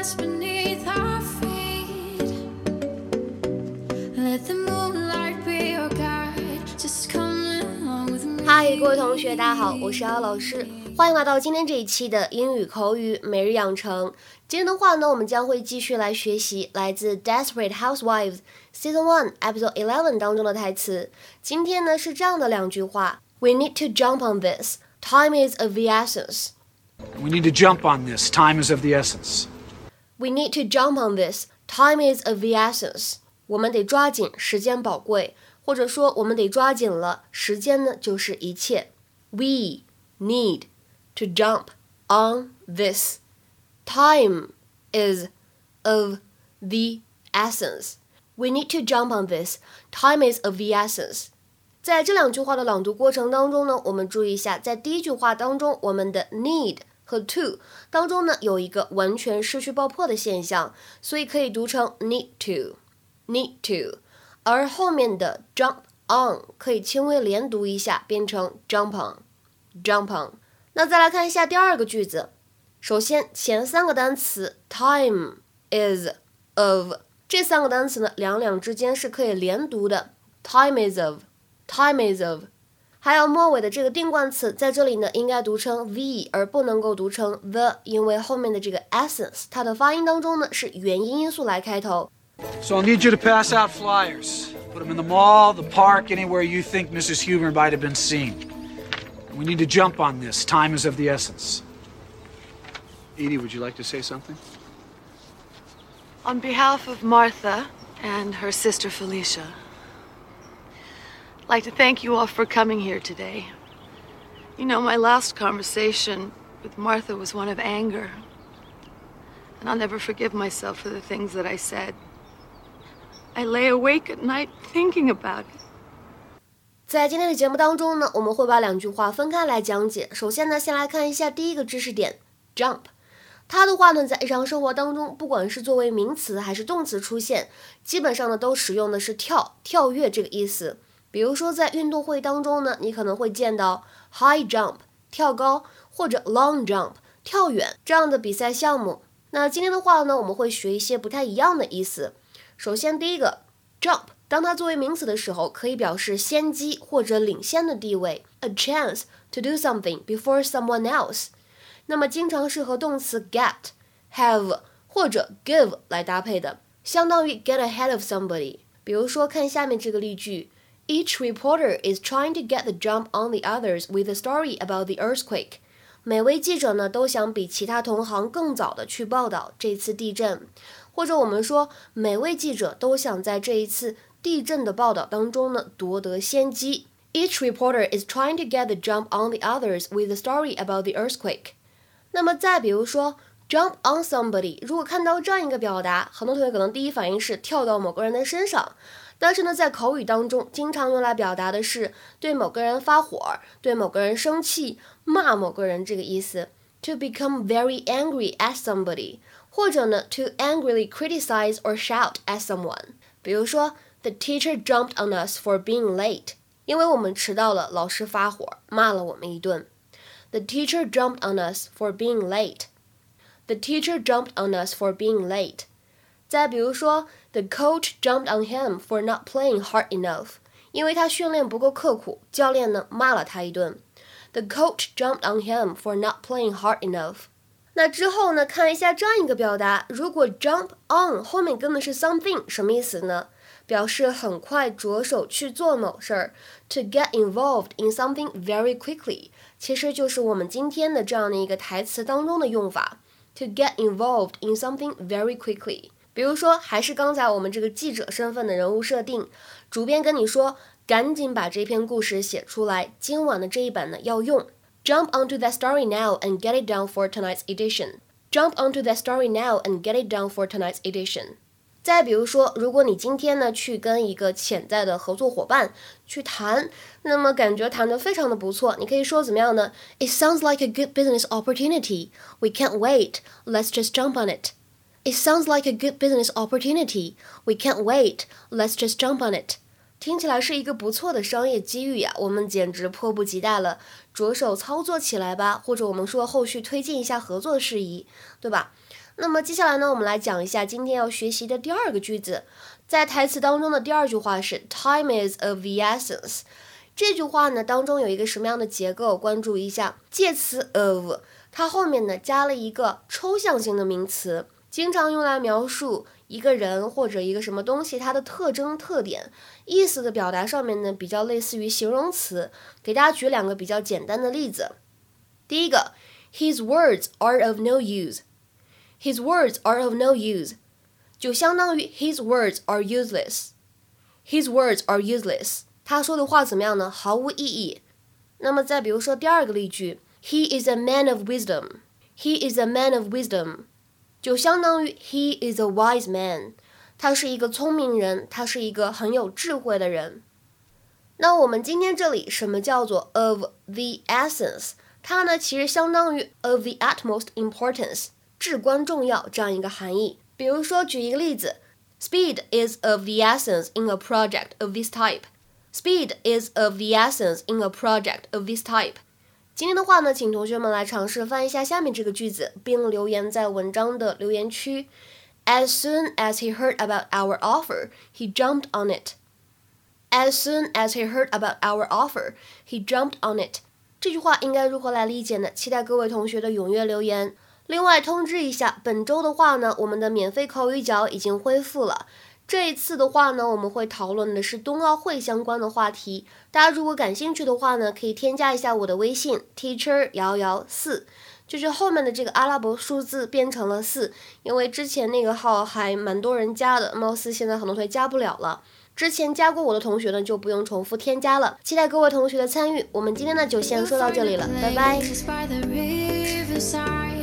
grass beneath our feet. Let the moonlight be your guide. Just come along with me. 嗨，各位同学，大家好，我是姚老师，欢迎来到今天这一期的英语口语每日养成。今天的话呢，我们将会继续来学习来自 Desperate Housewives Season 1 Episode 11当中的台词。今天呢是这样的两句话 ：We need to jump on this. Time is of the essence. We need to jump on this. Time is of the essence. We need to jump on this. Time is of the essence. 我们得抓紧，时间宝贵，或者说我们得抓紧了，时间呢就是一切。We need to jump on this. Time is of the essence. We need to jump on this. Time is of the essence. 在这两句话的朗读过程当中呢，我们注意一下，在第一句话当中，我们的 need 和 to 当中呢有一个完全失去爆破的现象，所以可以读成 need to，而后面的 jump on 可以轻微连读一下，变成 jump on。那再来看一下第二个句子，首先前三个单词 time is of 这三个单词呢，两之间是可以连读的 time is of。还有末尾的这个定冠词在这里呢应该读成 the 而不能够读成 the， 因为后面的这个 essence 它的发音当中呢是元音因素来开头。 So I'll need you to pass out flyers. Put them in the mall, the park, anywhere you think Mrs. Huber might have been seen. We need to jump on this. Time is of the essence. Edie, would you like to say something? On behalf of Martha and her sister Felicia,I'd like to thank you all for coming here today. You know, my last conversation with Martha was one of anger. And I'll never forgive myself for the things that I said. I lay awake at night thinking about it. 在今天的节目当中呢，我们会把两句话分开来讲解。首先呢，先来看一下第一个知识点 jump。它的话呢，在日常生活当中，不管是作为名词还是动词出现，基本上呢都使用的是跳跃这个意思。比如说在运动会当中呢，你可能会见到 high jump 跳高或者 long jump 跳远这样的比赛项目。那今天的话呢，我们会学一些不太一样的意思。首先第一个 jump 当它作为名词的时候，可以表示先机或者领先的地位 a chance to do something before someone else。 那么经常是和动词 get have 或者 give 来搭配的，相当于 get ahead of somebody。 比如说看下面这个例句， Each reporter is trying to get the jump on the others with a story about the earthquake。 每位记者呢都想比其他同行更早的去报道这次地震，或者我们说每位记者都想在这一次地震的报道当中呢夺得先机。 Each reporter is trying to get the jump on the others with a story about the earthquake。 那么再比如说 jump on somebody， 如果看到这样一个表达，很多同学可能第一反应是跳到某个人的身上，但是呢在口语当中经常用来表达的是对某个人发火，对某个人生气，骂某个人这个意思， to become very angry at somebody， 或者呢 to angrily criticize or shout at someone。 比如说 The teacher jumped on us for being late， 因为我们迟到了，老师发火骂了我们一顿。 The teacher jumped on us for being late。 The teacher jumped on us for being late。 再比如说 The coach jumped on him for not playing hard enough， 因为他训练不够刻苦，教练呢骂了他一顿。 The coach jumped on him for not playing hard enough。 那之后呢，看一下这样一个表达，如果 jump on 后面跟的是 something， 什么意思呢？表示很快着手去做某事儿 ，to get involved in something very quickly， 其实就是我们今天的这样的一个台词当中的用法 ，to get involved in something very quickly。比如说，还是刚才我们这个记者身份的人物设定，主编跟你说，赶紧把这篇故事写出来，今晚的这一版呢要用。Jump onto that story now and get it down for tonight's edition. Jump onto that story now and get it down for tonight's edition. 再比如说，如果你今天呢去跟一个潜在的合作伙伴去谈，那么感觉谈得非常的不错，你可以说怎么样呢？ It sounds like a good business opportunity. We can't wait. Let's just jump on it. It sounds like a good business opportunity. We can't wait. Let's just jump on it. 听起来是一个不错的商业机遇呀，我们简直迫不及待了，着手操作起来吧，或者我们说后续推进一下合作事宜，对吧？ 那么接下来呢，我们来讲一下今天要学习的第二个句子。在台词当中的第二句话是 Time is of the essence。这句话呢当中有一个什么样的结构？关注一下介词 of， 它后面呢加了一个抽象性的名词，经常用来描述一个人或者一个什么东西它的特征特点，意思的表达上面呢比较类似于形容词。给大家举两个比较简单的例子。第一个 His words are of no use。 His words are of no use 就相当于 His words are useless。 His words are useless， 他说的话怎么样呢？毫无意义。那么再比如说第二个例句 He is a man of wisdom。 He is a man of wisdom就相当于 He is a wise man， 他是一个聪明人，他是一个很有智慧的人。那我们今天这里什么叫做 of the essence？ 它呢其实相当于 of the utmost importance， 至关重要这样一个含义。比如说举一个例子 Speed is of the essence in a project of this type。 Speed is of the essence in a project of this type。今天的话呢，请同学们来尝试翻译一下下面这个句子，并留言在文章的留言区。As soon as he heard about our offer, he jumped on it. As soon as he heard about our offer, he jumped on it. 这句话应该如何来理解呢？期待各位同学的踊跃留言。另外通知一下，本周的话呢，我们的免费口语角已经恢复了。这一次的话呢，我们会讨论的是冬奥会相关的话题。大家如果感兴趣的话呢，可以添加一下我的微信 teacher114，就是后面的这个阿拉伯数字变成了4，因为之前那个号还蛮多人加的，貌似现在很多同学加不了了。之前加过我的同学呢，就不用重复添加了。期待各位同学的参与。我们今天呢就先说到这里了，拜拜。